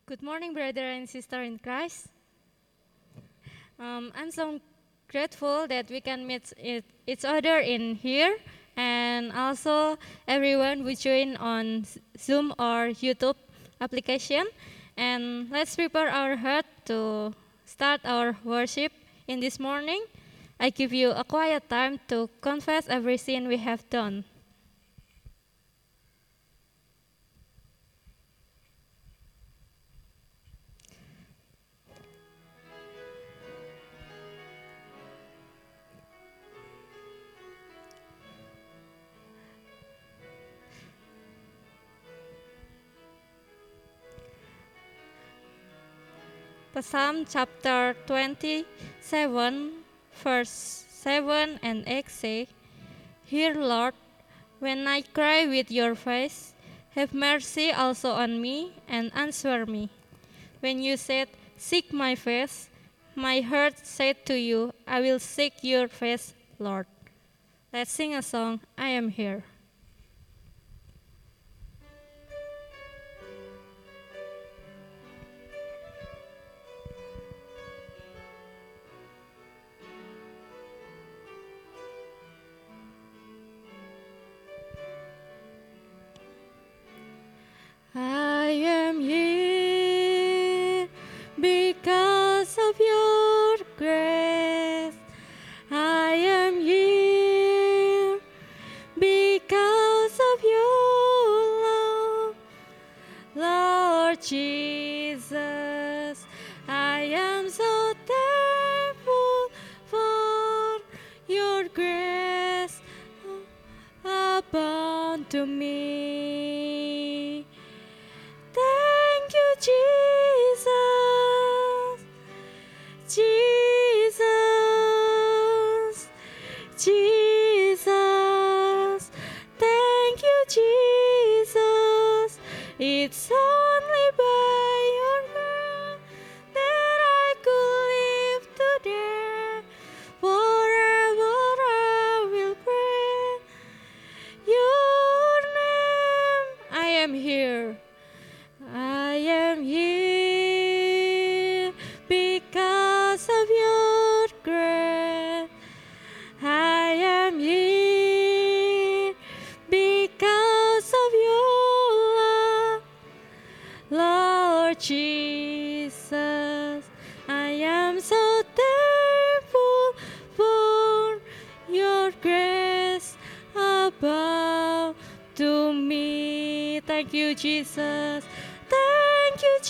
Good morning, brother and sister in Christ. I'm so grateful that we can meet each other in here, and also everyone who join on Zoom or YouTube application. And let's prepare our heart to start our worship in this morning. I give you a quiet time to confess every sin we have done. Psalm chapter 27, verse 7 and 8 say, Hear, Lord, when I cry with your face, have mercy also on me and answer me. When you said, Seek my face, my heart said to you, I will seek your face, Lord. Let's sing a song, I am here. I am here because of your grace. I am here because of your love. Lord Jesus, I am so thankful for your grace abound to me. Thank you, Jesus, Jesus, Jesus. Thank you, Jesus. It's only by your grace that I could live today. Forever I will pray your name. I am here. I am here because of your grace. I am here because of your love. Lord Jesus, I am so thankful for your grace above to me. Thank you, Jesus. Thank you,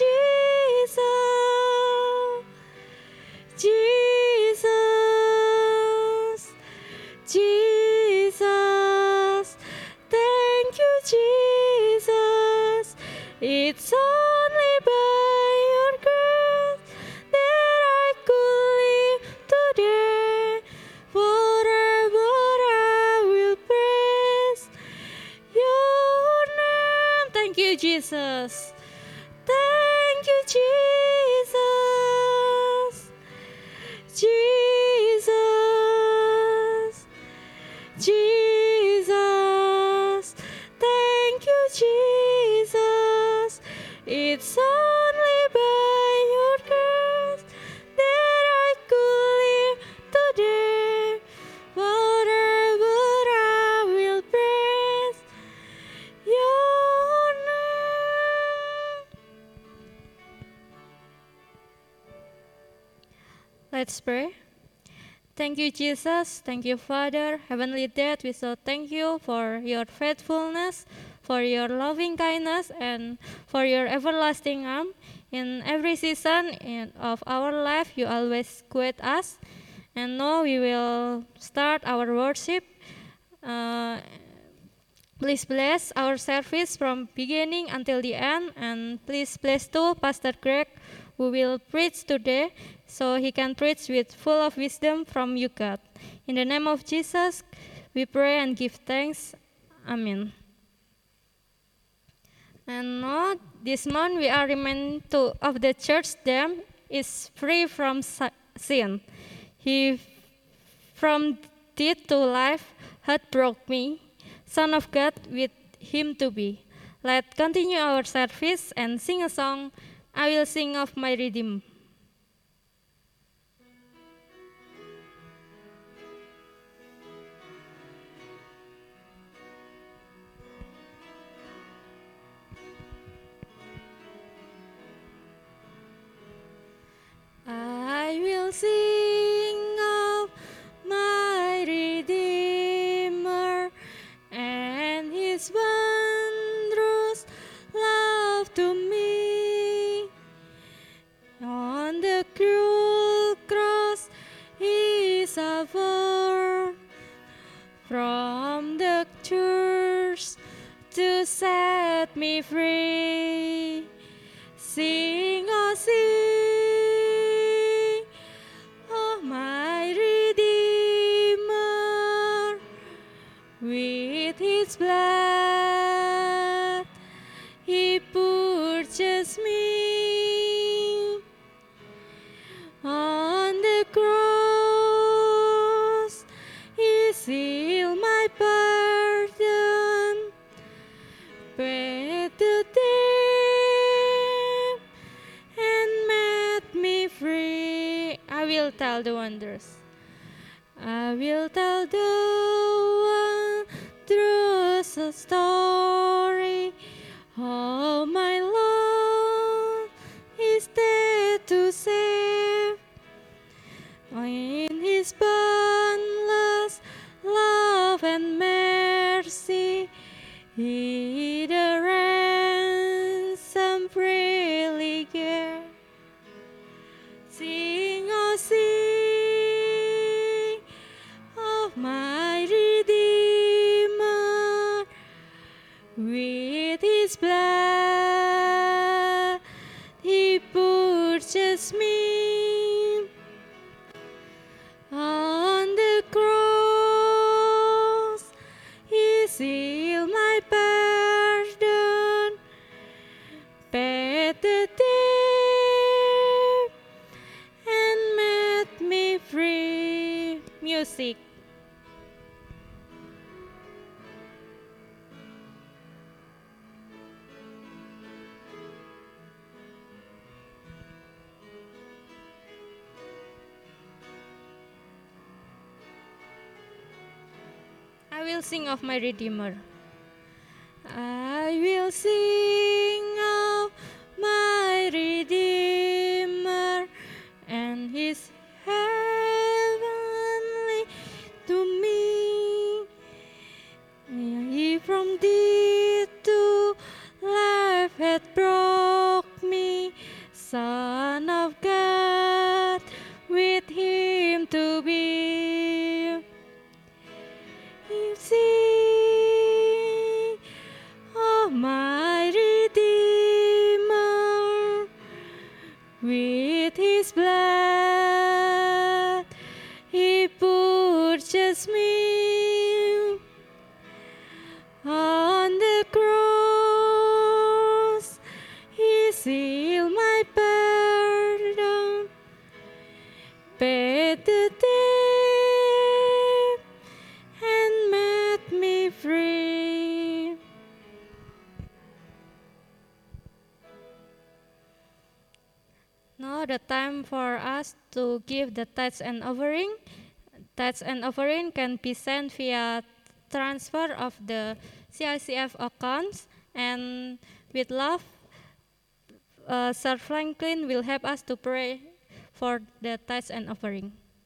Jesus. Jesus. Jesus. Thank you, Jesus. It's only by your grace that I could live today. Forever I will praise your name. Thank you, Jesus. Thank you, Jesus. Jesus. Jesus. Thank you, Jesus. It's only by your grace that I could live today. Forever I will praise your name. Let's pray. Thank you, Jesus. Thank you, Father. Heavenly Dad, we so thank you for your faithfulness, for your loving kindness, and for your everlasting arm. In every season of our life, you always guide us. And now we will start our worship. Uh, Please bless our service from beginning until the end, and please bless too Pastor Greg, who will preach today, so he can preach with full of wisdom from you, God. In the name of Jesus, we pray and give thanks. Amen. And now, this month we are reminded of the church dam is free from sin. He from death to life hath brought me, Son of God, with him to be. Let's continue our service and sing a song, I will sing of my Redeemer. I will sing of my Redeemer and his wondrous love to me. On the cruel cross he suffered from the curse to set me free. Sing, oh sing, oh my Redeemer, with his blood he purchased me. On the cross he sealed my pardon, paid the debt and made me free. I will tell the wonders. I will tell the wondrous story. Oh, my Lord is there to save. In his boundless love and mercy, he the ransom freely gave. Sing, oh sing, of my Redeemer, with his blood he purchased me. On the cross he sealed my pardon, paid the debt and made me free. Music. I will sing of my Redeemer. I will sing of my Redeemer and his heavenly to me. He from death to life hath brought me, Son of God, with him to be. Sing, oh my Redeemer, with his blood he purchased me. On the cross he sealed my pardon, paid the debt and made me free. Now the time for us to give the tithes and offering. Tithes and offering can be sent via transfer of the CICF accounts, and with love, Sir Franklin will help us to pray for the tithes and offering.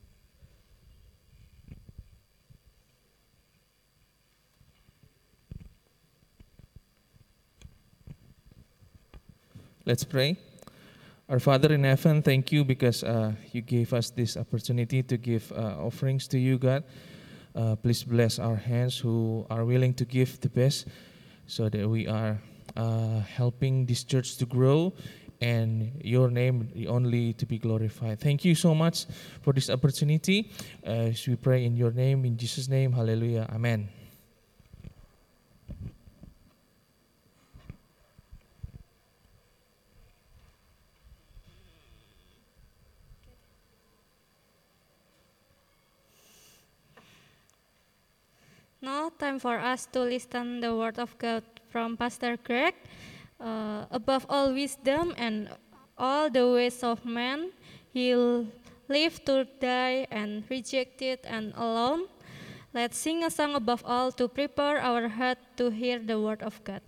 Let's pray. Our Father in heaven, thank you because you gave us this opportunity to give offerings to you, God. Please bless our hands who are willing to give the best so that we are helping this church to grow and your name only to be glorified. Thank you so much for this opportunity. As we pray in your name, in Jesus' name, hallelujah, amen. Now, time for us to listen the word of God from Pastor Greg. Above all wisdom and all the ways of man. He lived to die and rejected and alone. Let's sing a song above all to prepare our heart to hear the word of God.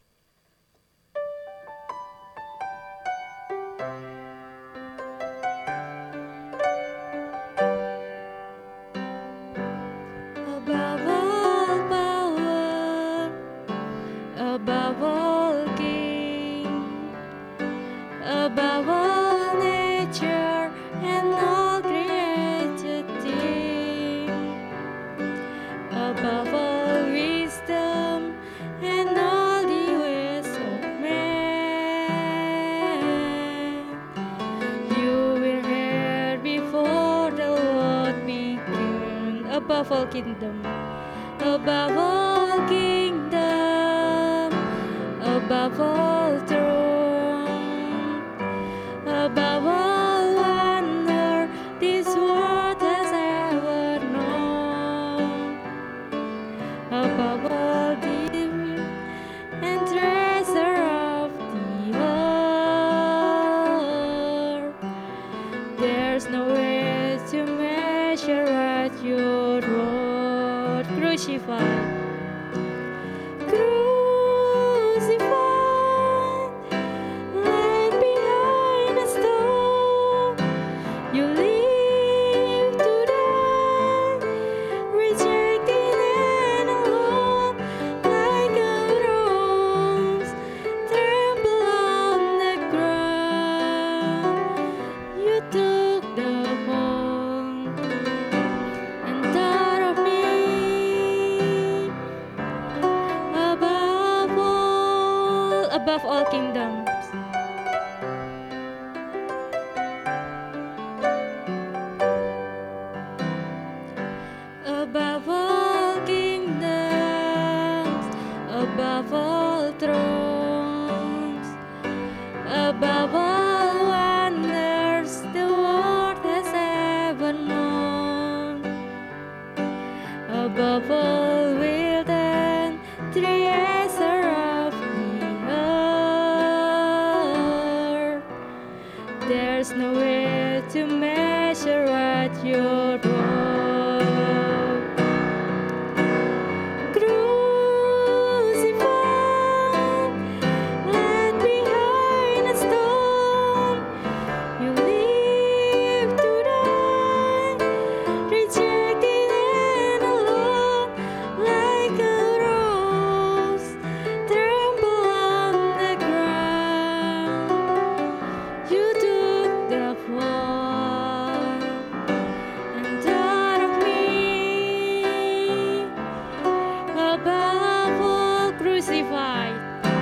Above all power, above all king, above all nature and all created things, above all wisdom and all the ways of man. You were here before the world began, above all kingdom, above all kingdom, above all throne, above all wonder this world has ever known, above all beauty and treasure of the earth. There's no way to measure what your word crucified. Crucified, laid behind a stone. You live to die, rejected and alone, like a rose, trampled on the ground. You took the fall and thought of me above all kingdoms. Above all kingdoms, above all thrones, above all wonders the world has ever known, above all wealth and treasure of the earth. There's no way to measure what your word. Crucified, laid behind a stone. You live to die, rejected and alone, like a rose, trampled on the ground. You took the fall and thought of me above all crucified.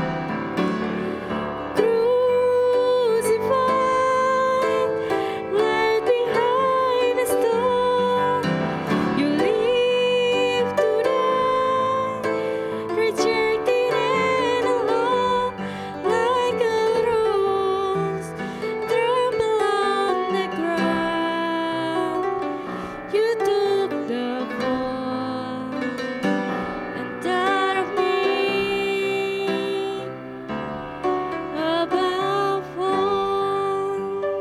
Crucified, laid behind a stone. You live to die, rejected and alone, like a rose, trampled on the ground. You took the fall and thought of me above all.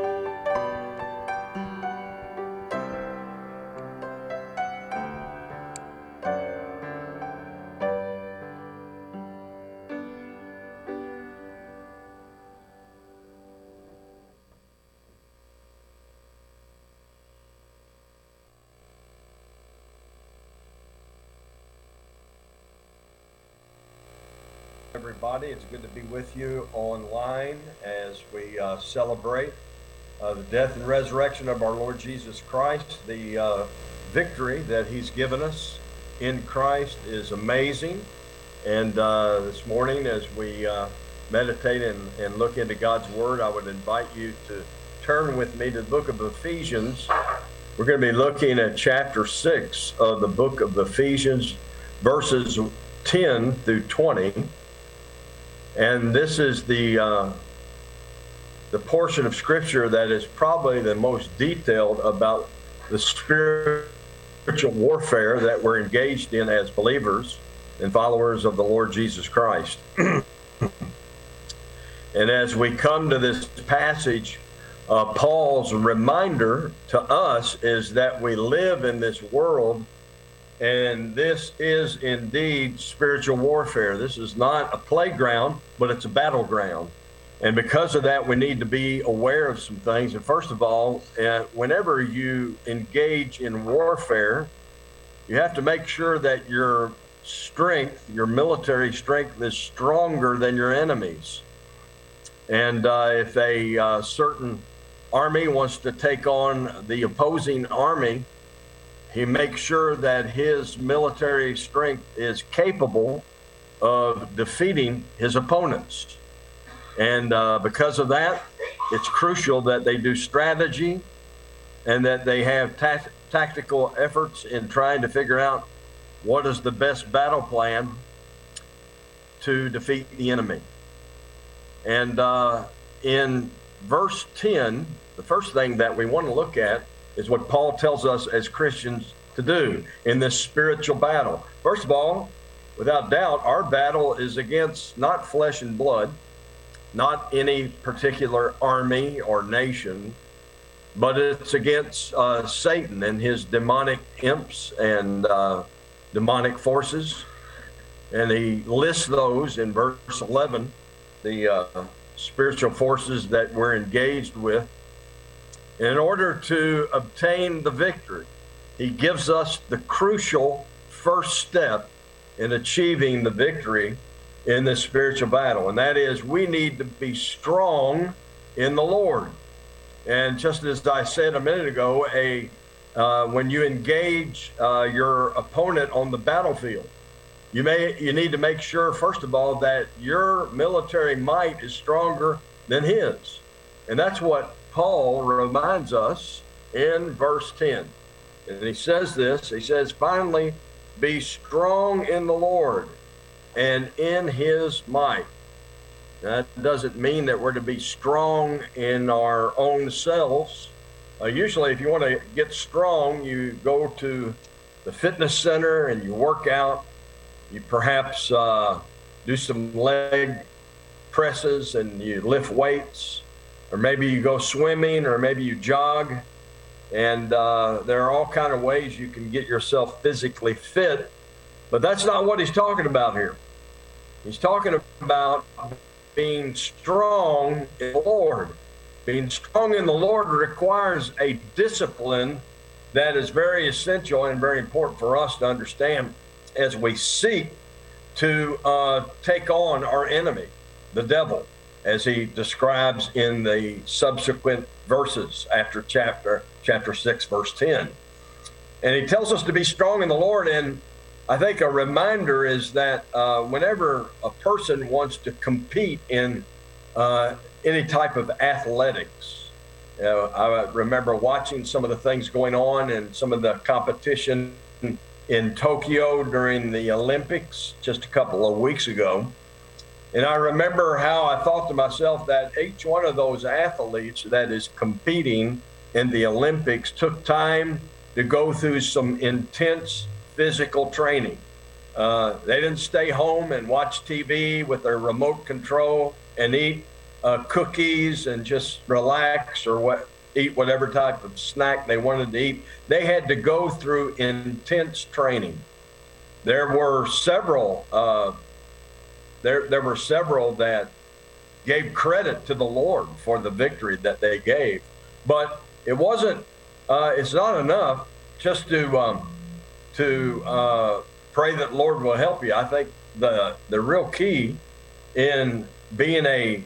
Everybody, it's good to be with you online as we celebrate the death and resurrection of our Lord Jesus Christ. The victory that He's given us in Christ is amazing. And this morning, as we meditate and look into God's Word, I would invite you to turn with me to the book of Ephesians. We're going to be looking at chapter 6 of the book of Ephesians, verses 10 through 20. And this is the portion of Scripture that is probably the most detailed about the spiritual warfare that we're engaged in as believers and followers of the Lord Jesus Christ. And as we come to this passage, Paul's reminder to us is that we live in this world, and this is indeed spiritual warfare. This is not a playground, but it's a battleground. And because of that, we need to be aware of some things. And first of all, whenever you engage in warfare, you have to make sure that your strength, your military strength, is stronger than your enemies. And if a certain army wants to take on the opposing army, he makes sure that his military strength is capable of defeating his opponents. And because of that, it's crucial that they do strategy and that they have tactical efforts in trying to figure out what is the best battle plan to defeat the enemy. And in verse 10, the first thing that we want to look at is what Paul tells us as Christians to do in this spiritual battle. First of all, without doubt, our battle is against not flesh and blood, not any particular army or nation, but it's against Satan and his demonic imps and demonic forces. And he lists those in verse 11, the spiritual forces that we're engaged with. In order to obtain the victory, he gives us the crucial first step in achieving the victory in this spiritual battle, and that is we need to be strong in the Lord. And just as I said a minute ago, when you engage your opponent on the battlefield, you need to make sure, first of all, that your military might is stronger than his. And that's what Paul reminds us in verse 10. And he says this, he says, finally, be strong in the Lord and in his might. That doesn't mean that we're to be strong in our own selves. Usually, if you want to get strong, you go to the fitness center and you work out. You perhaps do some leg presses and you lift weights, or maybe you go swimming, or maybe you jog. And there are all kinds of ways you can get yourself physically fit, but that's not what he's talking about here. He's talking about being strong in the Lord. Being strong in the Lord requires a discipline that is very essential and very important for us to understand as we seek to take on our enemy, the devil, as he describes in the subsequent verses after chapter 6, verse 10. And he tells us to be strong in the Lord. And I think a reminder is that whenever a person wants to compete in any type of athletics, I remember watching some of the things going on and some of the competition in Tokyo during the Olympics just a couple of weeks ago. And I remember how I thought to myself that each one of those athletes that is competing in the Olympics took time to go through some intense physical training. They didn't stay home and watch TV with their remote control and eat cookies and just relax or eat whatever type of snack they wanted to eat. They had to go through intense training. There were several that gave credit to the Lord for the victory that they gave, but it wasn't. It's not enough just to pray that the Lord will help you. I think the real key in being an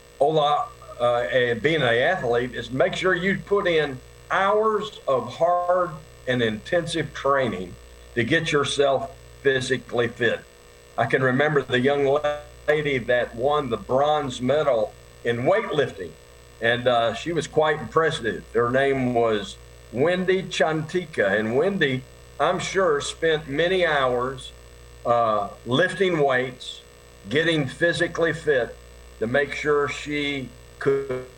athlete is make sure you put in hours of hard and intensive training to get yourself physically fit. I can remember the young lady that won the bronze medal in weightlifting, and she was quite impressive. Her name was Wendy Chantika, and Wendy, I'm sure, spent many hours lifting weights, getting physically fit to make sure she could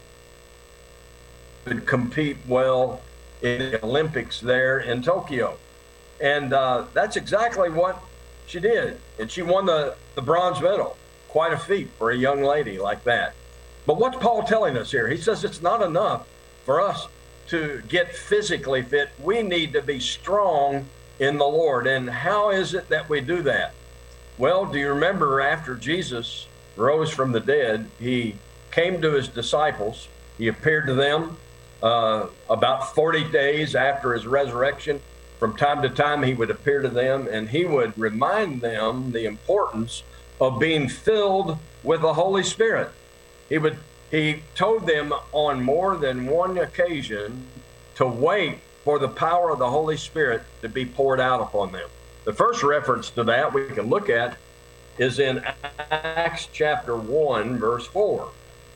compete well in the Olympics there in Tokyo. And that's exactly what she did. And she won the bronze medal. Quite a feat for a young lady like that. But what's Paul telling us here? He says it's not enough for us to get physically fit. We need to be strong in the Lord. And how is it that we do that? Well, do you remember after Jesus rose from the dead, he came to his disciples. He appeared to them about 40 days after his resurrection. From time to time, he would appear to them, and he would remind them the importance of being filled with the Holy Spirit. He told them on more than one occasion to wait for the power of the Holy Spirit to be poured out upon them. The first reference to that we can look at is in Acts chapter 1, verse 4.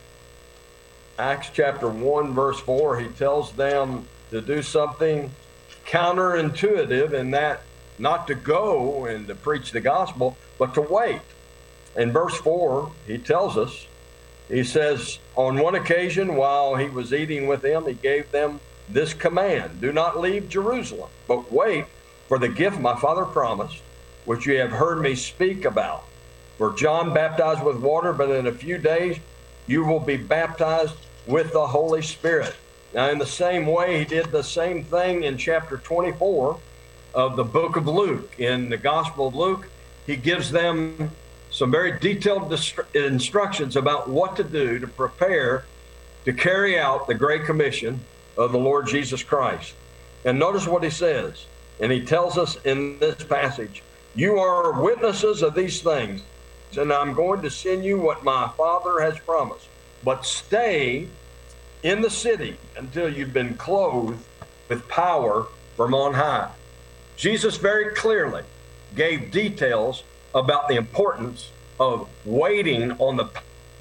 Acts chapter 1, verse 4, he tells them to do something counterintuitive, in that not to go and to preach the gospel, but to wait. In verse 4, he tells us, he says, on one occasion while he was eating with them, he gave them this command: do not leave Jerusalem, but wait for the gift my Father promised, which you have heard me speak about. For John baptized with water, but in a few days you will be baptized with the Holy Spirit. Now, in the same way, he did the same thing in chapter 24 of the book of Luke. In the Gospel of Luke, he gives them some very detailed instructions about what to do to prepare to carry out the Great Commission of the Lord Jesus Christ. And notice what he says. And he tells us in this passage, you are witnesses of these things, and I'm going to send you what my Father has promised. But stay in the city until you've been clothed with power from on high. Jesus very clearly gave details about the importance of waiting on the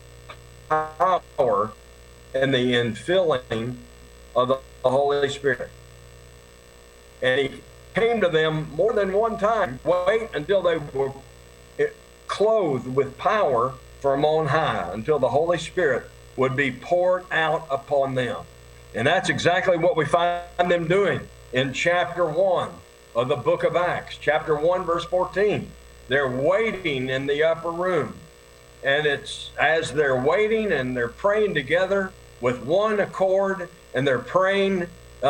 power and the infilling of the Holy Spirit. And he came to them more than one time, wait until they were clothed with power from on high, until the Holy Spirit would be poured out upon them. And that's exactly what we find them doing in chapter 1 of the book of Acts. Chapter 1, verse 14. They're waiting in the upper room. And it's as they're waiting and they're praying together with one accord, and they're praying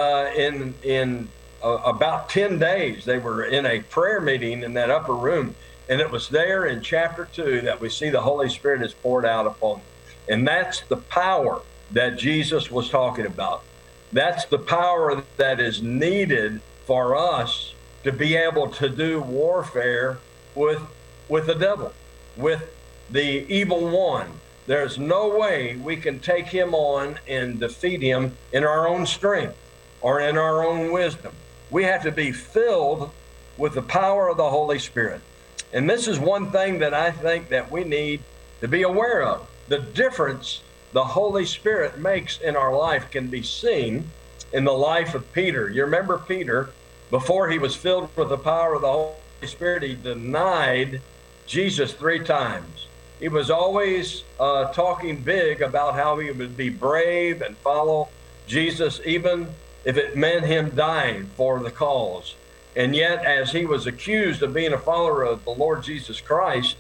in about 10 days. They were in a prayer meeting in that upper room. And it was there in chapter 2 that we see the Holy Spirit is poured out upon them. And that's the power that Jesus was talking about. That's the power that is needed for us to be able to do warfare with the devil, with the evil one. There's no way we can take him on and defeat him in our own strength or in our own wisdom. We have to be filled with the power of the Holy Spirit. And this is one thing that I think that we need to be aware of. The difference the Holy Spirit makes in our life can be seen in the life of Peter. You remember Peter, before he was filled with the power of the Holy Spirit, he denied Jesus 3 times. He was always talking big about how he would be brave and follow Jesus, even if it meant him dying for the cause. And yet, as he was accused of being a follower of the Lord Jesus Christ,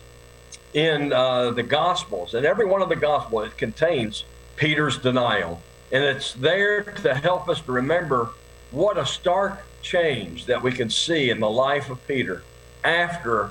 in the Gospels, and every one of the Gospels, it contains Peter's denial. And it's there to help us to remember what a stark change that we can see in the life of Peter after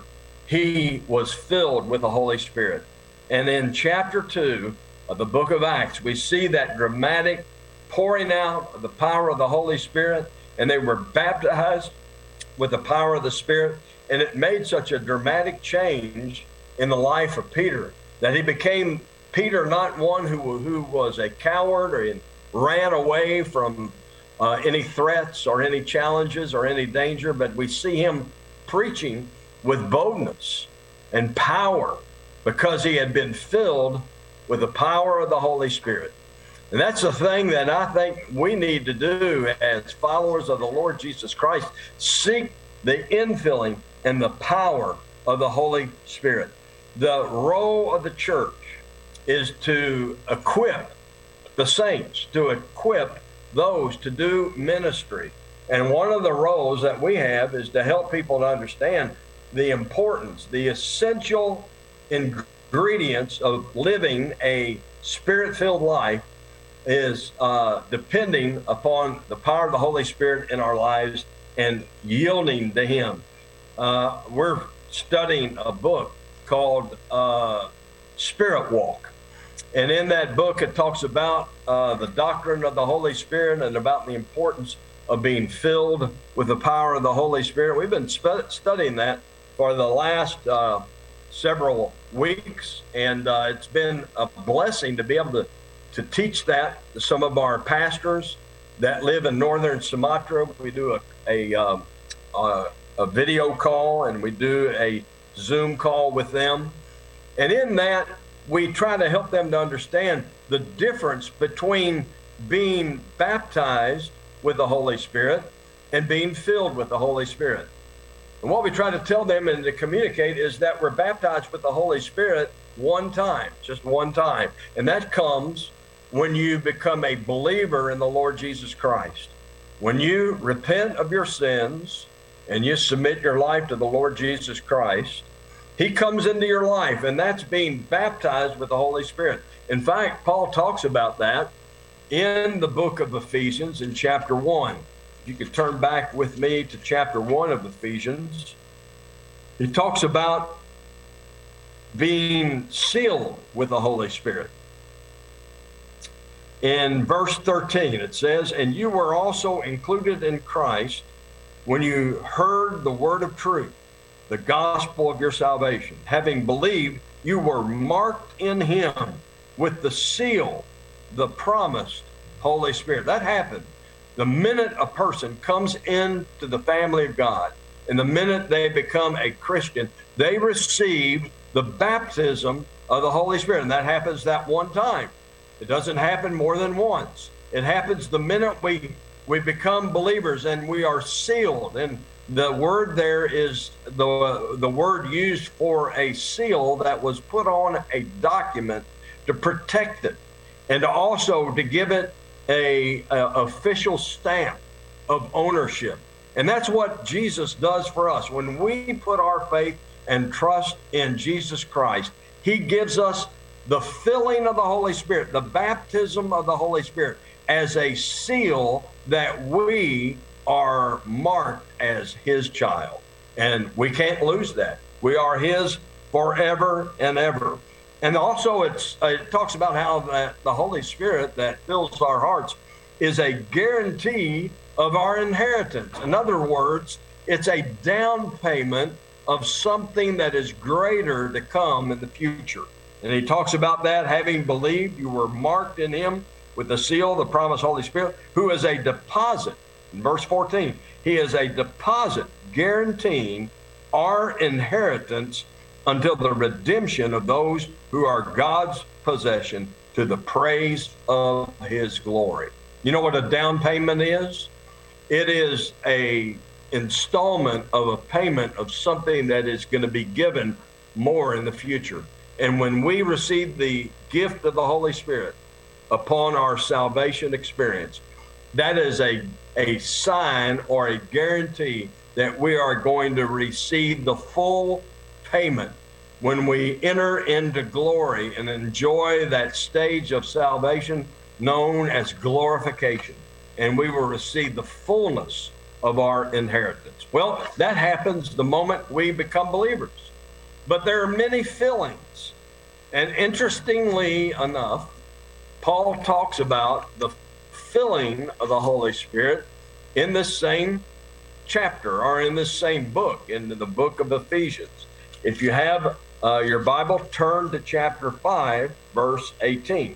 he was filled with the Holy Spirit. And in chapter 2 of the book of Acts, we see that dramatic pouring out of the power of the Holy Spirit, and they were baptized with the power of the Spirit. And it made such a dramatic change in the life of Peter that he became Peter, not one who was a coward or ran away from any threats or any challenges or any danger, but we see him preaching with boldness and power because he had been filled with the power of the Holy Spirit. And that's the thing that I think we need to do as followers of the Lord Jesus Christ: seek the infilling and the power of the Holy Spirit. The role of the church is to equip the saints, to equip those to do ministry. And one of the roles that we have is to help people to understand the importance, the essential ingredients of living a Spirit-filled life is depending upon the power of the Holy Spirit in our lives and yielding to Him. We're studying a book called Spirit Walk. And in that book, it talks about the doctrine of the Holy Spirit and about the importance of being filled with the power of the Holy Spirit. We've been studying that for the last several weeks, and it's been a blessing to be able to teach that to some of our pastors that live in northern Sumatra. We do a video call, and we do a Zoom call with them. And in that, we try to help them to understand the difference between being baptized with the Holy Spirit and being filled with the Holy Spirit. And what we try to tell them and to communicate is that we're baptized with the Holy Spirit one time, just one time. And that comes when you become a believer in the Lord Jesus Christ. When you repent of your sins and you submit your life to the Lord Jesus Christ, He comes into your life, and that's being baptized with the Holy Spirit. In fact, Paul talks about that in the book of Ephesians in chapter 1. You could turn back with me to chapter 1 of Ephesians. He talks about being sealed with the Holy Spirit. In verse 13, it says, "And you were also included in Christ when you heard the word of truth, the gospel of your salvation. Having believed, you were marked in Him with the seal, the promised Holy Spirit." That happened the minute a person comes into the family of God, and the minute they become a Christian, they receive the baptism of the Holy Spirit. And that happens that one time. It doesn't happen more than once. It happens the minute we become believers and we are sealed. And the word there is the word used for a seal that was put on a document to protect it, and also to give it a official stamp of ownership. And that's what Jesus does for us. When we put our faith and trust in Jesus Christ, He gives us the filling of the Holy Spirit, the baptism of the Holy Spirit, as a seal that we are marked as His child. And we can't lose that. We are His forever and ever. And also it talks about how the Holy Spirit that fills our hearts is a guarantee of our inheritance. In other words, it's a down payment of something that is greater to come in the future. And he talks about that, having believed, you were marked in Him with the seal, the promised Holy Spirit, who is a deposit. In verse 14, He is a deposit guaranteeing our inheritance until the redemption of those who are God's possession, to the praise of His glory. You know what a down payment is? It is a installment of a payment of something that is going to be given more in the future. And when we receive the gift of the Holy Spirit upon our salvation experience, that is a sign or a guarantee that we are going to receive the full payment when we enter into glory and enjoy that stage of salvation known as glorification. And we will receive the fullness of our inheritance. Well, that happens the moment we become believers. But there are many fillings. And interestingly enough, Paul talks about the filling of the Holy Spirit in this same chapter, or in this same book, in the book of Ephesians. If you have your Bible, turn to chapter 5, verse 18.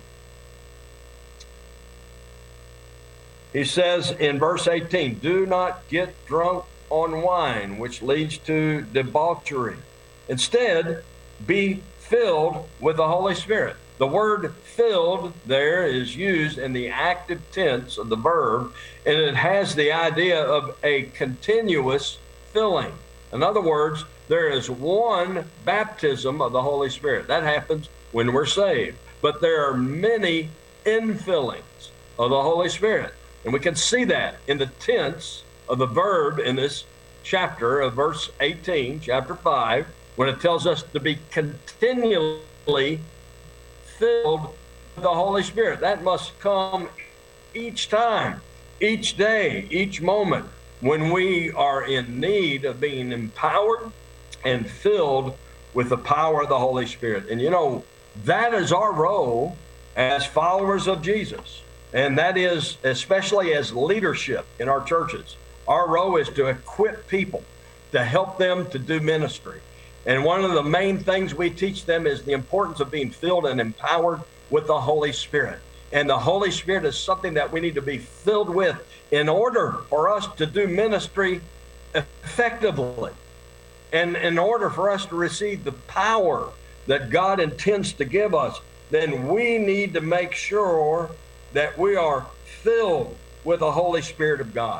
He says in verse 18, "Do not get drunk on wine, which leads to debauchery. Instead, be filled with the Holy Spirit." The word filled there is used in the active tense of the verb, and it has the idea of a continuous filling. In other words, there is one baptism of the Holy Spirit. That happens when we're saved. But there are many infillings of the Holy Spirit. And we can see that in the tense of the verb in this chapter of verse 18, chapter 5, when it tells us to be continually filled the Holy Spirit. That must come each time, each day, each moment when we are in need of being empowered and filled with the power of the Holy Spirit. And you know, that is our role as followers of Jesus. And that is especially as leadership in our churches. Our role is to equip people, to help them to do ministry. And one of the main things we teach them is the importance of being filled and empowered with the Holy Spirit. And the Holy Spirit is something that we need to be filled with in order for us to do ministry effectively. And in order for us to receive the power that God intends to give us, then we need to make sure that we are filled with the Holy Spirit of God.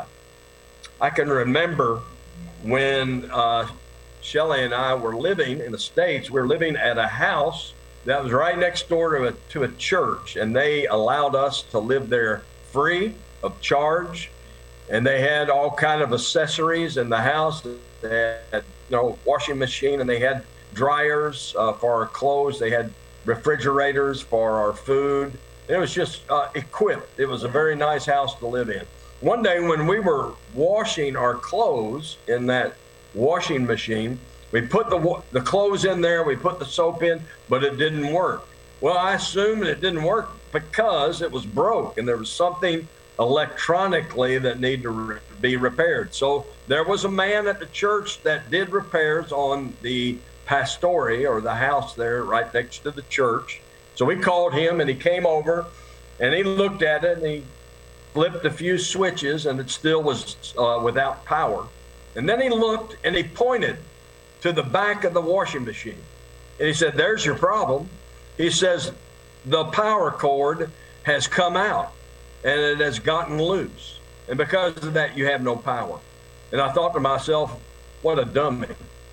I can remember when Shelley and I were living in the States. We were living at a house that was right next door to a church, and they allowed us to live there free of charge. And they had all kind of accessories in the house. They had, washing machine, and they had dryers for our clothes. They had refrigerators for our food. It was just equipped. It was a very nice house to live in. One day when we were washing our clothes in that washing machine, we put the clothes in there, we put the soap in, but it didn't work. Well, I assumed it didn't work because it was broke and there was something electronically that needed to be repaired. So there was a man at the church that did repairs on the pastory, or the house there right next to the church. So we called him, and he came over and he looked at it, and he flipped a few switches, and it still was without power. And then he looked and he pointed to the back of the washing machine. And he said, "There's your problem." He says, "The power cord has come out and it has gotten loose. And because of that, you have no power." And I thought to myself, what a dummy.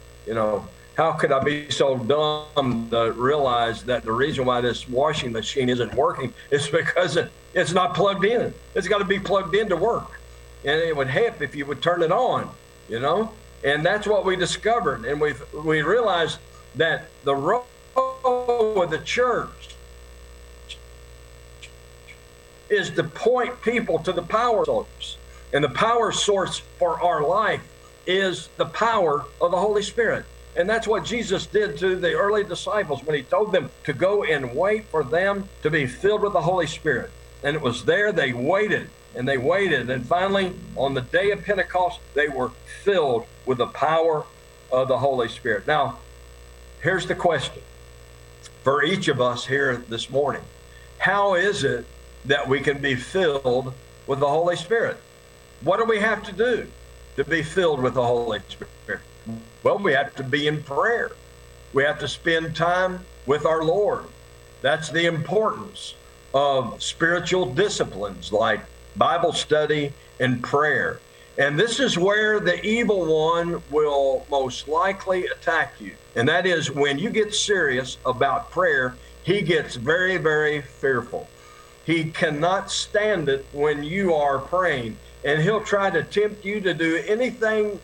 How could I be so dumb to realize that the reason why this washing machine isn't working is because it's not plugged in. It's got to be plugged in to work. And it would help if you would turn it on, And that's what we discovered. And we realized that the role of the church is to point people to the power source. And the power source for our life is the power of the Holy Spirit. And that's what Jesus did to the early disciples when he told them to go and wait for them to be filled with the Holy Spirit. And it was there they waited and they waited. And finally, on the day of Pentecost, they were filled with the power of the Holy Spirit. Now, here's the question for each of us here this morning. How is it that we can be filled with the Holy Spirit? What do we have to do to be filled with the Holy Spirit? Well, we have to be in prayer. We have to spend time with our Lord. That's the importance of spiritual disciplines like Bible study and prayer. And this is where the evil one will most likely attack you. And that is when you get serious about prayer, he gets very, very fearful. He cannot stand it when you are praying. And he'll try to tempt you to do anything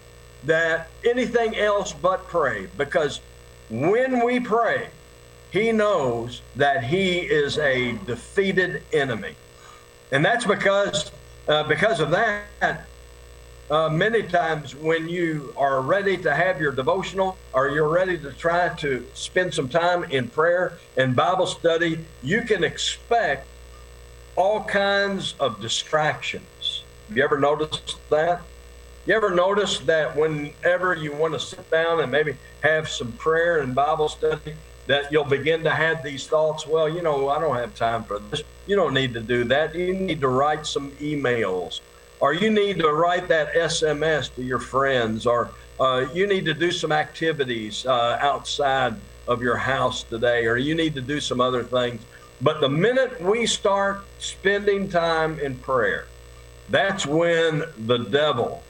else but pray, because when we pray, he knows that he is a defeated enemy. And that's because of that, many times when you are ready to have your devotional, or you're ready to try to spend some time in prayer and Bible study, you can expect all kinds of distractions. Have you ever noticed that? You ever notice that whenever you want to sit down and maybe have some prayer and Bible study, that you'll begin to have these thoughts, well, I don't have time for this. You don't need to do that. You need to write some emails, or you need to write that SMS to your friends, or you need to do some activities outside of your house today, or you need to do some other things. But the minute we start spending time in prayer, that's when the devil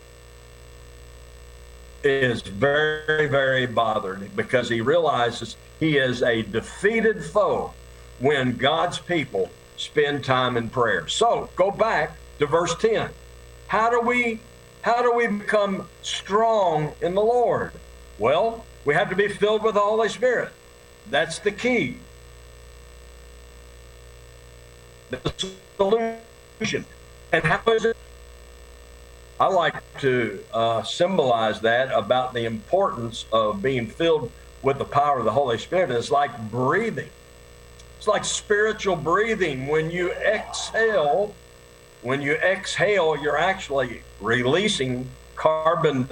is very, very bothered, because he realizes he is a defeated foe when God's people spend time in prayer. So go back to verse 10. How do we become strong in the Lord? Well, we have to be filled with the Holy Spirit. That's the key. the solution. And how is it? I like to symbolize that about the importance of being filled with the power of the Holy Spirit. It's like breathing. It's like spiritual breathing. When you exhale, you're actually releasing carbon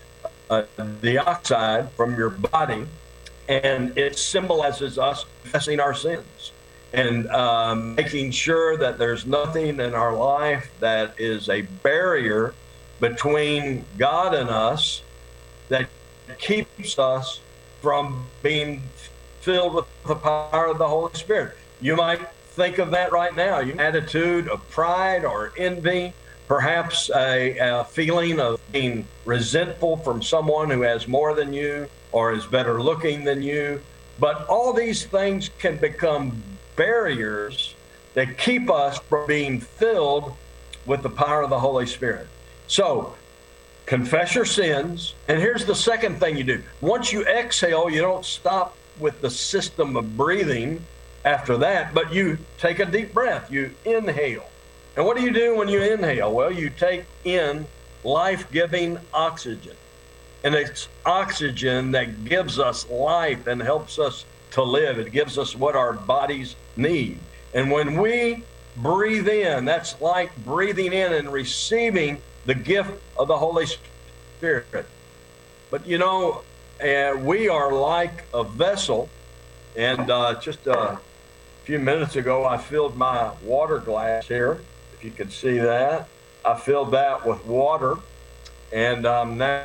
dioxide from your body, and it symbolizes us confessing our sins and making sure that there's nothing in our life that is a barrier between God and us that keeps us from being filled with the power of the Holy Spirit. You might think of that right now. Your attitude of pride or envy, perhaps a feeling of being resentful from someone who has more than you or is better looking than you. But all these things can become barriers that keep us from being filled with the power of the Holy Spirit. So, confess your sins. And here's the second thing you do. Once you exhale, you don't stop with the system of breathing after that, but you take a deep breath. You inhale. And what do you do when you inhale? Well, you take in life-giving oxygen. And it's oxygen that gives us life and helps us to live. It gives us what our bodies need. And when we breathe in, that's like breathing in and receiving the gift of the Holy Spirit. But you know, we are like a vessel. And just a few minutes ago, I filled my water glass here. If you could see that, I filled that with water, and I'm now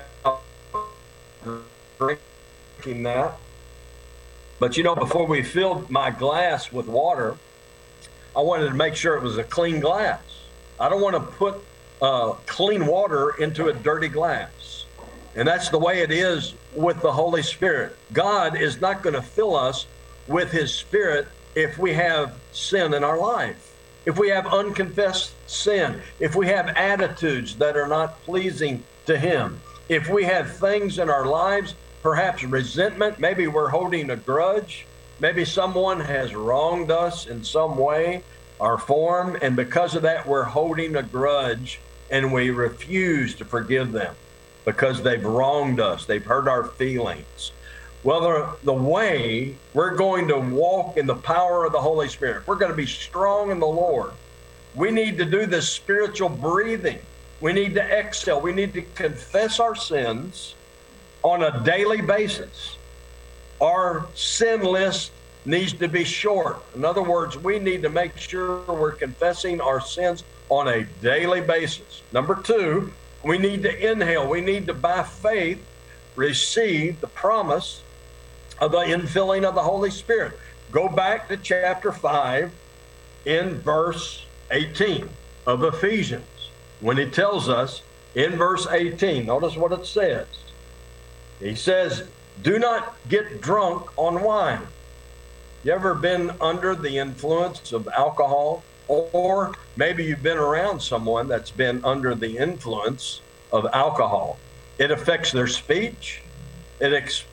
drinking that. But you know, before we filled my glass with water, I wanted to make sure it was a clean glass. I don't want to put clean water into a dirty glass. And that's the way it is with the Holy Spirit. God is not going to fill us with His Spirit if we have sin in our life, if we have unconfessed sin, if we have attitudes that are not pleasing to Him, if we have things in our lives, perhaps resentment, maybe we're holding a grudge, maybe someone has wronged us in some way or form, and because of that, we're holding a grudge and we refuse to forgive them because they've wronged us, they've hurt our feelings. Well, the way we're going to walk in the power of the Holy Spirit, we're going to be strong in the Lord. We need to do this spiritual breathing. We need to exhale. We need to confess our sins on a daily basis. Our sin list needs to be short. In other words, we need to make sure we're confessing our sins on a daily basis. Number two, we need to inhale. We need to, by faith, receive the promise of the infilling of the Holy Spirit. Go back to chapter 5 in verse 18 of Ephesians, when he tells us in verse 18, notice what it says. He says, do not get drunk on wine. You ever been under the influence of alcohol? Or maybe you've been around someone that's been under the influence of alcohol. It affects their speech. It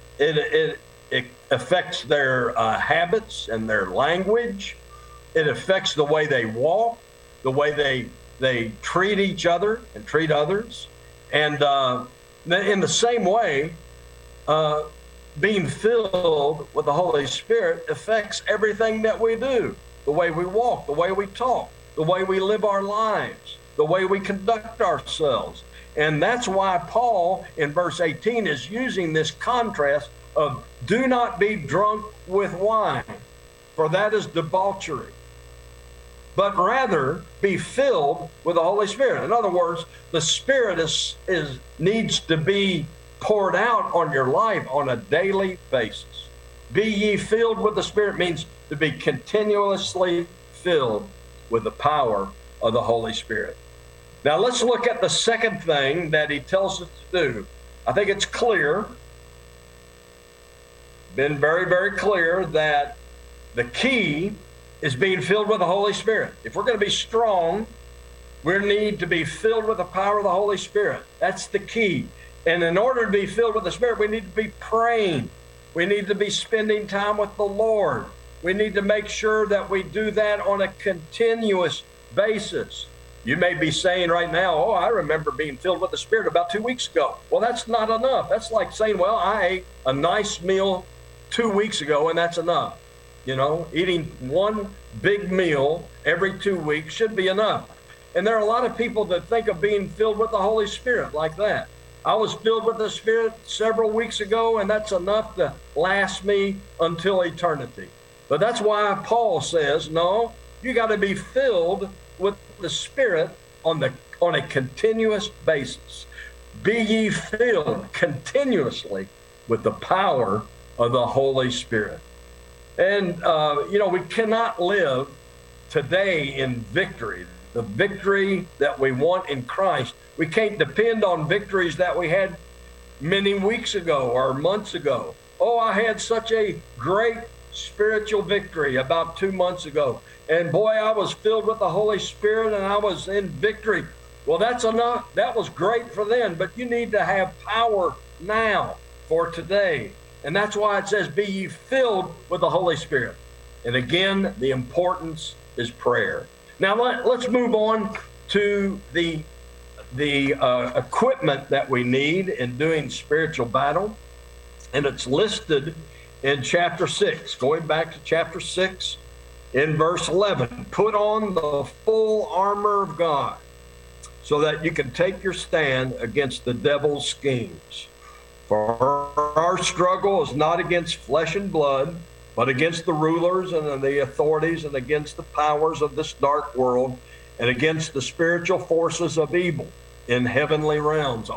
affects their habits and their language. It affects the way they walk, the way they treat each other and treat others. And in the same way, being filled with the Holy Spirit affects everything that we do. The way we walk, the way we talk, the way we live our lives, the way we conduct ourselves. And that's why Paul in verse 18 is using this contrast of do not be drunk with wine, for that is debauchery, but rather be filled with the Holy Spirit. In other words, the Spirit needs to be poured out on your life on a daily basis. Be ye filled with the Spirit means to be continuously filled with the power of the Holy Spirit. Now let's look at the second thing that he tells us to do. I think it's clear, been very, very clear, that the key is being filled with the Holy Spirit. If we're going to be strong, we need to be filled with the power of the Holy Spirit. That's the key. And in order to be filled with the Spirit, we need to be praying. We need to be spending time with the Lord. We need to make sure that we do that on a continuous basis. You may be saying right now, oh, I remember being filled with the Spirit about 2 weeks ago. Well, that's not enough. That's like saying, well, I ate a nice meal 2 weeks ago, and that's enough. You know, eating one big meal every 2 weeks should be enough. And there are a lot of people that think of being filled with the Holy Spirit like that. I was filled with the Spirit several weeks ago, and that's enough to last me until eternity. But that's why Paul says, no, you got to be filled with the Spirit on a continuous basis. Be ye filled continuously with the power of the Holy Spirit. And, we cannot live today in victory, the victory that we want in Christ. We can't depend on victories that we had many weeks ago or months ago. Oh, I had such a great spiritual victory about 2 months ago. And boy, I was filled with the Holy Spirit and I was in victory. Well, that's enough. That was great for then, but you need to have power now for today. And that's why it says, be ye filled with the Holy Spirit. And again, the importance is prayer. Now, let's move on to the equipment that we need in doing spiritual battle. And it's listed in chapter 6. Going back to chapter 6 in verse 11. Put on the full armor of God so that you can take your stand against the devil's schemes. For our struggle is not against flesh and blood, but against the rulers and the authorities and against the powers of this dark world and against the spiritual forces of evil in heavenly realms.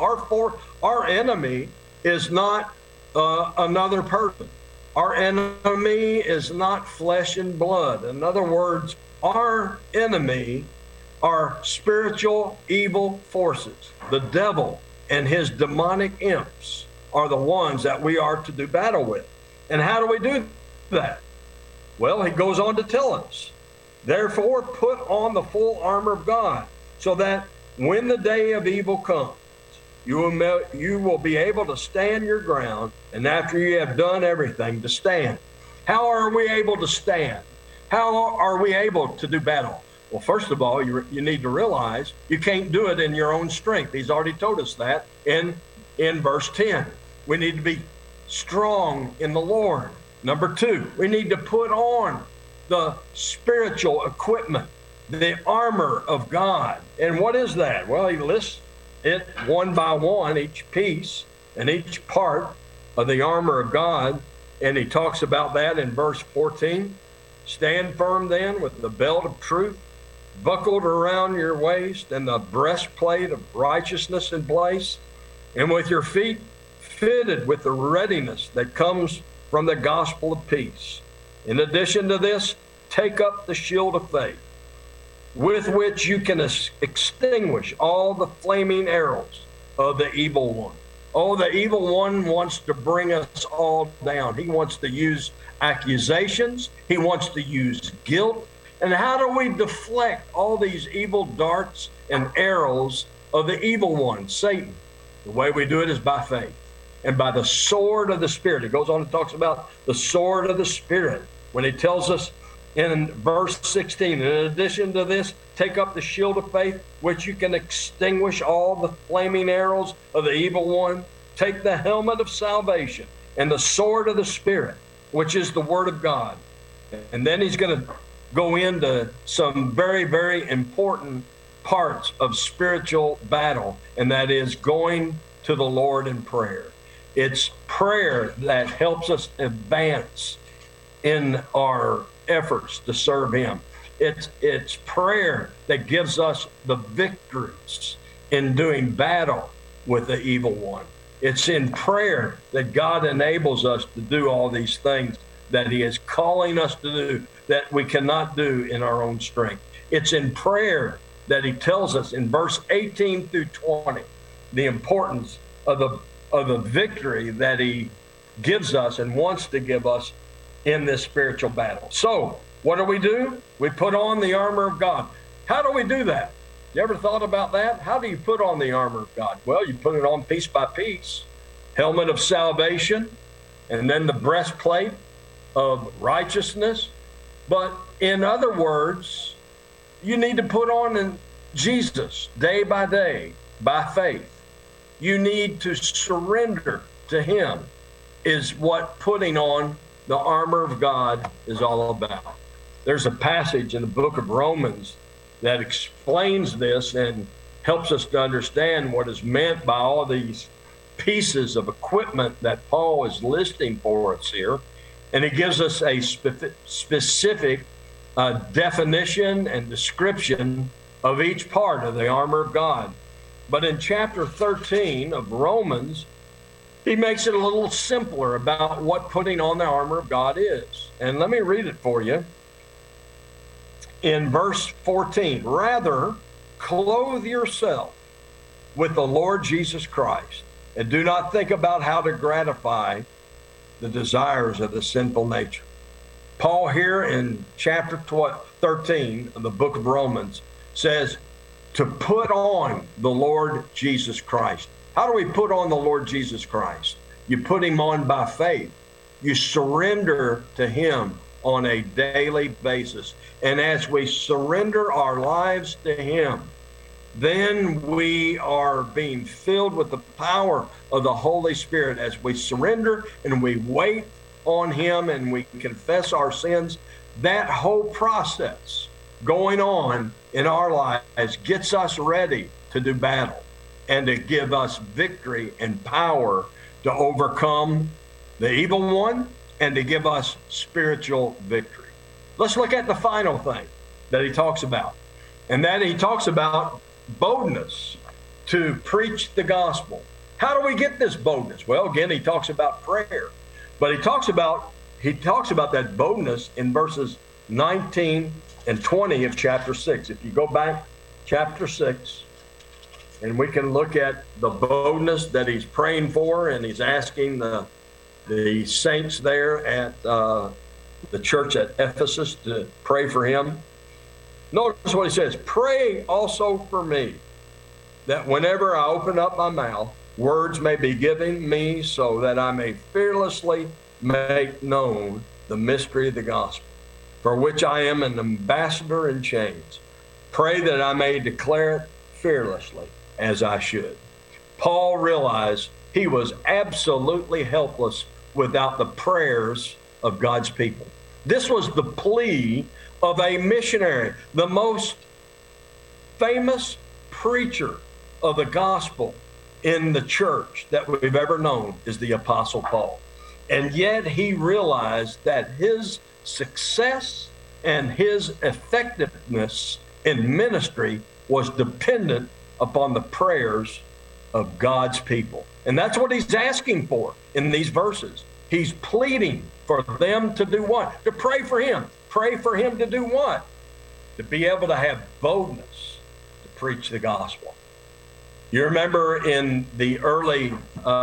Our enemy is not another person. Our enemy is not flesh and blood. In other words, our enemy are spiritual evil forces. The devil and his demonic imps are the ones that we are to do battle with. And how do we do that? Well, he goes on to tell us, therefore put on the full armor of God, so that when the day of evil comes, you will be able to stand your ground, and after you have done everything, to stand. How are we able to stand? How are we able to do battle? Well, first of all, you need to realize you can't do it in your own strength. He's already told us that in verse 10. We need to be strong in the Lord. Number 2, we need to put on the spiritual equipment, the armor of God. And what is that? Well, he lists it one by one, each piece and each part of the armor of God. And he talks about that in verse 14. Stand firm then with the belt of truth buckled around your waist and the breastplate of righteousness in place, and with your feet fitted with the readiness that comes from the gospel of peace. In addition to this, take up the shield of faith, with which you can extinguish all the flaming arrows of the evil one. Oh, the evil one wants to bring us all down. He wants to use accusations. He wants to use guilt. And how do we deflect all these evil darts and arrows of the evil one, Satan? The way we do it is by faith and by the sword of the Spirit. He goes on and talks about the sword of the Spirit when he tells us in verse 16, in addition to this, take up the shield of faith, which you can extinguish all the flaming arrows of the evil one. Take the helmet of salvation and the sword of the Spirit, which is the word of God. And then he's going to go into some very, very important parts of spiritual battle, and that is going to the Lord in prayer. It's prayer that helps us advance in our efforts to serve him. It's prayer that gives us the victories in doing battle with the evil one. It's in prayer that God enables us to do all these things that he is calling us to do that we cannot do in our own strength. It's in prayer that he tells us in verse 18 through 20 the importance of the victory that he gives us and wants to give us in this spiritual battle. So what do? We put on the armor of God. How do we do that? You ever thought about that? How do you put on the armor of God? Well, you put it on piece by piece. Helmet of salvation, and then the breastplate of righteousness. But in other words, you need to put on Jesus day by day by faith. You need to surrender to him, is what putting on the armor of God is all about. There's a passage in the book of Romans that explains this and helps us to understand what is meant by all these pieces of equipment that Paul is listing for us here. And it gives us a specific definition and description of each part of the armor of God. But in chapter 13 of Romans, he makes it a little simpler about what putting on the armor of God is. And let me read it for you. In verse 14, rather, clothe yourself with the Lord Jesus Christ, and do not think about how to gratify the desires of the sinful nature. Paul here in chapter 13 of the book of Romans says to put on the Lord Jesus Christ. How do we put on the Lord Jesus Christ? You put him on by faith. You surrender to him on a daily basis. And as we surrender our lives to him, then we are being filled with the power of the Holy Spirit as we surrender and we wait on him and we confess our sins. That whole process going on in our lives gets us ready to do battle and to give us victory and power to overcome the evil one and to give us spiritual victory. Let's look at the final thing that he talks about, and that he talks about boldness to preach the gospel. How do we get this boldness? Well, again, he talks about prayer, but he talks about that boldness in verses 19 and 20 of chapter 6. If you go back chapter 6, and we can look at the boldness that he's praying for, and he's asking the saints there at the church at Ephesus to pray for him. Notice what he says, pray also for me, that whenever I open up my mouth, words may be given me so that I may fearlessly make known the mystery of the gospel, for which I am an ambassador in chains. Pray that I may declare it fearlessly as I should. Paul realized he was absolutely helpless without the prayers of God's people. This was the plea of a missionary. The most famous preacher of the gospel in the church that we've ever known is the Apostle Paul. And yet he realized that his success and his effectiveness in ministry was dependent upon the prayers of God's people. And that's what he's asking for in these verses. He's pleading for them to do what? To pray for him. Pray for him to do what? To be able to have boldness to preach the gospel. You remember in the early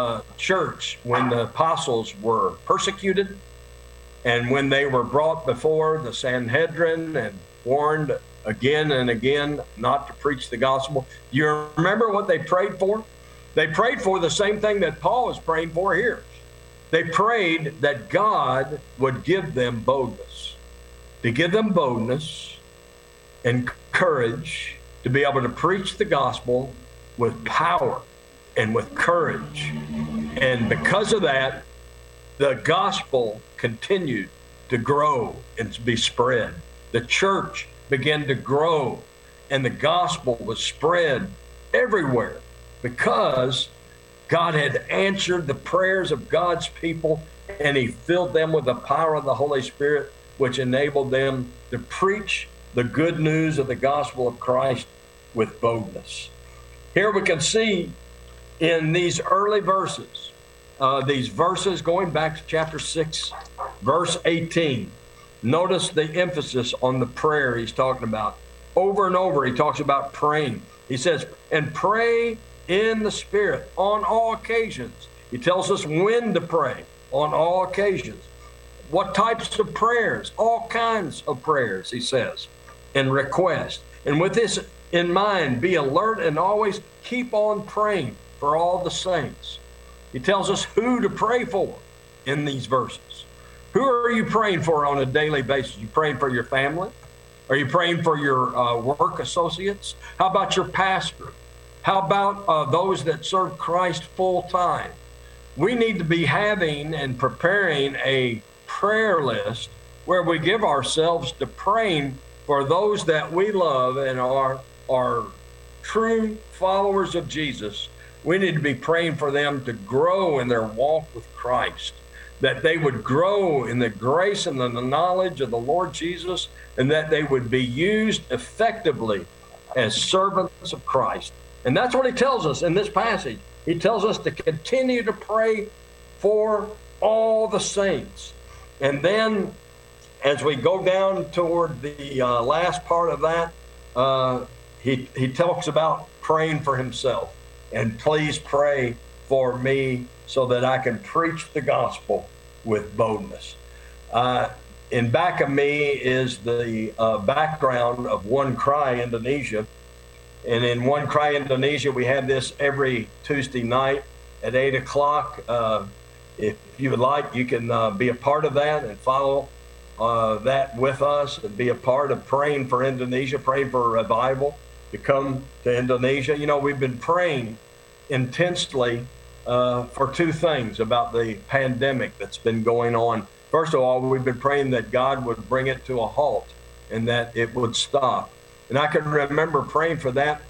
church when the apostles were persecuted and when they were brought before the Sanhedrin and warned again and again not to preach the gospel. You remember what they prayed for? They prayed for the same thing that Paul is praying for here. They prayed that God would give them boldness, to give them boldness and courage to be able to preach the gospel with power and with courage. And because of that, the gospel continued to grow and to be spread. The church began to grow and the gospel was spread everywhere because God had answered the prayers of God's people and he filled them with the power of the Holy Spirit, which enabled them to preach the good news of the gospel of Christ with boldness. Here we can see in these early verses, these verses going back to chapter 6, verse 18, notice the emphasis on the prayer he's talking about. Over and over, he talks about praying. He says, and pray in the Spirit on all occasions. He tells us when to pray on all occasions. What types of prayers? All kinds of prayers, he says, and request. And with this in mind, be alert and always keep on praying for all the saints. He tells us who to pray for in these verses. Who are you praying for on a daily basis? You praying for your family? Are you praying for your work associates? How about your pastor? How about those that serve Christ full time? We need to be having and preparing a prayer list where we give ourselves to praying for those that we love and are true followers of Jesus. We need to be praying for them to grow in their walk with Christ, that they would grow in the grace and the knowledge of the Lord Jesus, and that they would be used effectively as servants of Christ. And that's what he tells us in this passage. He tells us to continue to pray for all the saints. And then as we go down toward the last part of that, he talks about praying for himself. And please pray for me so that I can preach the gospel with boldness. In back of me is the background of One Cry Indonesia. And in One Cry Indonesia, we have this every Tuesday night at 8 o'clock. If you would like, you can be a part of that and follow that with us and be a part of praying for Indonesia, praying for revival to come to Indonesia. You know, we've been praying intensely for two things about the pandemic that's been going on. First of all, we've been praying that God would bring it to a halt and that it would stop. And I can remember praying for that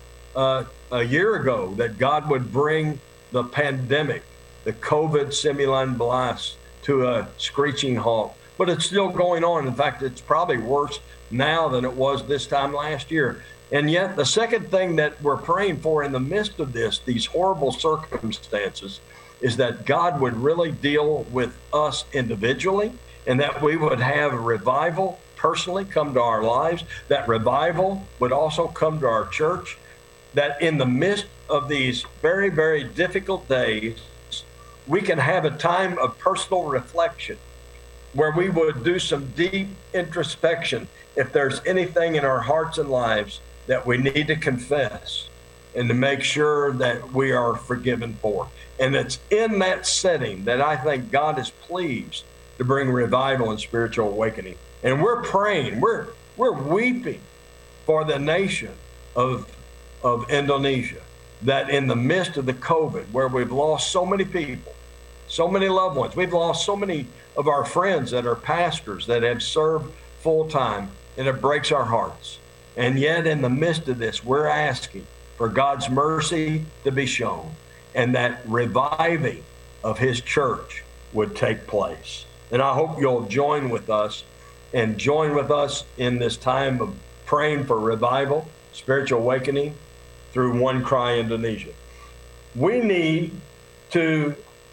a year ago, that God would bring the pandemic, the COVID simulan blast, to a screeching halt. But it's still going on. In fact, it's probably worse now than it was this time last year. And yet the second thing that we're praying for in the midst of this, these horrible circumstances, is that God would really deal with us individually, and that we would have revival personally come to our lives, that revival would also come to our church, that in the midst of these very, very difficult days, we can have a time of personal reflection where we would do some deep introspection if there's anything in our hearts and lives that we need to confess and to make sure that we are forgiven for. And it's in that setting that I think God is pleased to bring revival and spiritual awakening. And we're praying, we're weeping for the nation of Indonesia, that in the midst of the COVID, where we've lost so many people, so many loved ones, we've lost so many of our friends that are pastors that have served full time, and it breaks our hearts. And yet in the midst of this, we're asking for God's mercy to be shown, and that reviving of his church would take place. And I hope you'll join with us in this time of praying for revival, spiritual awakening through One Cry Indonesia. We need to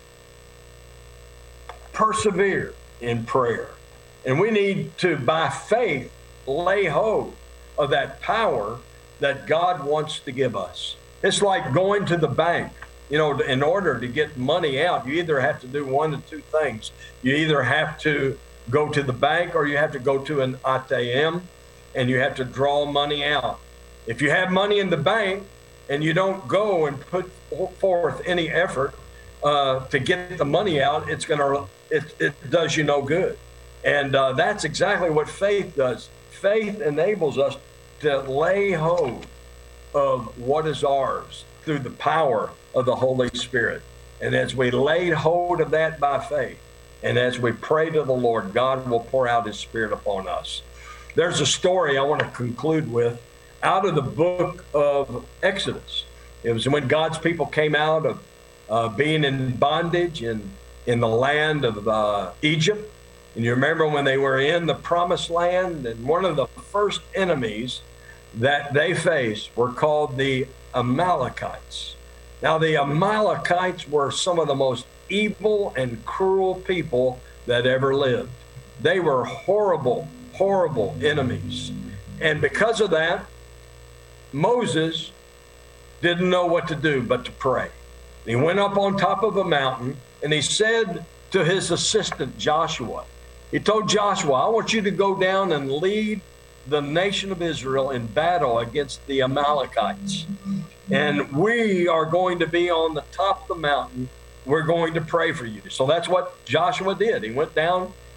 persevere in prayer, and we need to, by faith, lay hold of that power that God wants to give us. It's like going to the bank. You know, in order to get money out, you either have to do one of two things. You either have to go to the bank, or you have to go to an ATM and you have to draw money out. If you have money in the bank and you don't go and put forth any effort to get the money out, it does you no good. And that's exactly what faith does. Faith enables us to lay hold of what is ours through the power of the Holy Spirit. And as we lay hold of that by faith, and as we pray to the Lord, God will pour out his Spirit upon us. There's a story I want to conclude with out of the book of Exodus. It was when God's people came out of being in bondage in the land of Egypt. And you remember when they were in the promised land, and one of the first enemies that they faced were called the Amalekites. Now, the Amalekites were some of the most evil and cruel people that ever lived. They were horrible, horrible enemies. And because of that, Moses didn't know what to do but to pray. He went up on top of a mountain and he said to his assistant Joshua, he told Joshua, I want you to go down and lead the nation of Israel in battle against the Amalekites. And we are going to be on the top of the mountain. We're going to pray for you. So that's what Joshua did. He went down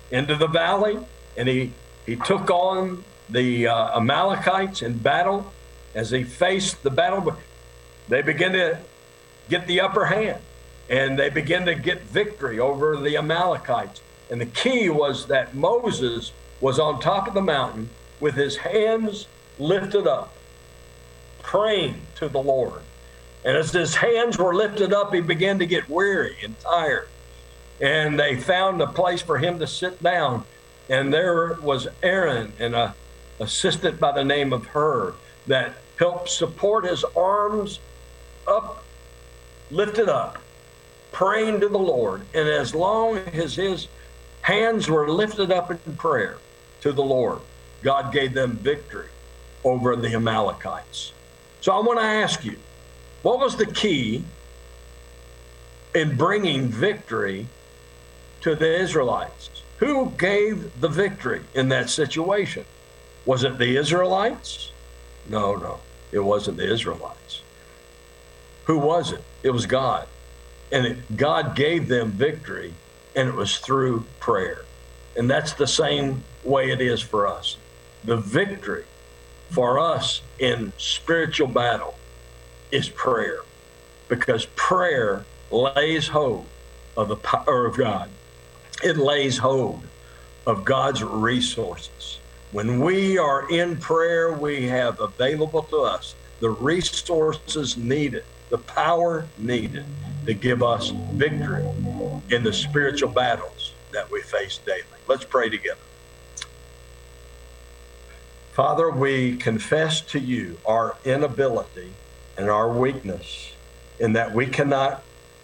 into the valley, and he took on the Amalekites in battle. As he faced the battle, they began to get the upper hand, and they began to get victory over the Amalekites. And the key was that Moses was on top of the mountain with his hands lifted up, praying to the Lord. And as his hands were lifted up, he began to get weary and tired. And they found a place for him to sit down. And there was Aaron and an assistant by the name of Hur that helped support his arms up, lifted up, praying to the Lord. And as long as his hands were lifted up in prayer to the Lord, God gave them victory over the Amalekites. So I want to ask you, what was the key in bringing victory to the Israelites? Who gave the victory in that situation? Was it the Israelites? No, it wasn't the Israelites. Who was it? It was God. And God gave them victory, and it was through prayer. And that's the same way it is for us. The victory for us in spiritual battle is prayer, because prayer lays hold of the power of God. It lays hold of God's resources. When we are in prayer, we have available to us the resources needed, the power needed to give us victory in the spiritual battles that we face daily. Let's pray together. Father, we confess to you our inability and our weakness in that we cannot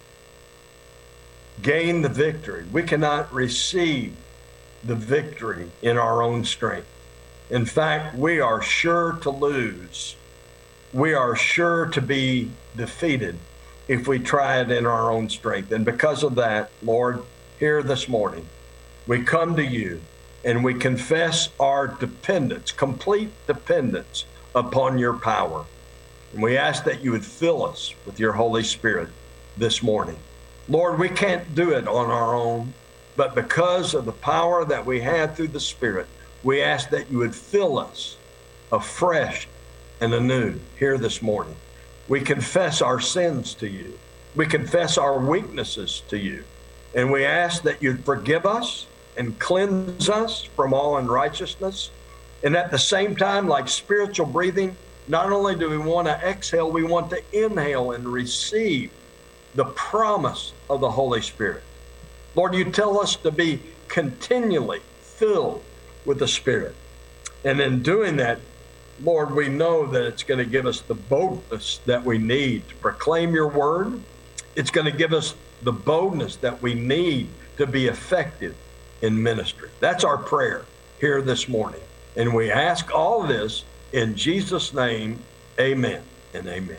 gain the victory. We cannot receive the victory in our own strength. In fact, we are sure to lose. We are sure to be defeated if we try it in our own strength. And because of that, Lord, here this morning, we come to you and we confess our dependence, complete dependence upon your power. And we ask that you would fill us with your Holy Spirit this morning. Lord, we can't do it on our own, but because of the power that we have through the Spirit, we ask that you would fill us afresh and anew here this morning. We confess our sins to you. We confess our weaknesses to you. And we ask that you'd forgive us and cleanse us from all unrighteousness. And at the same time, like spiritual breathing, not only do we want to exhale, we want to inhale and receive the promise of the Holy Spirit. Lord, you tell us to be continually filled with the Spirit. And in doing that, Lord, we know that it's going to give us the boldness that we need to proclaim your word. It's going to give us the boldness that we need to be effective in ministry. That's our prayer here this morning. And we ask all this in Jesus' name, amen and amen.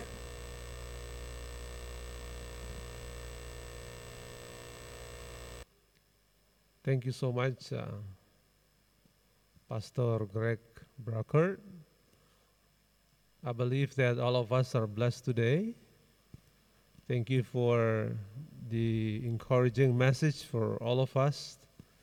Thank you so much, Pastor Greg Brucker. I believe that all of us are blessed today. Thank you for the encouraging message for all of us.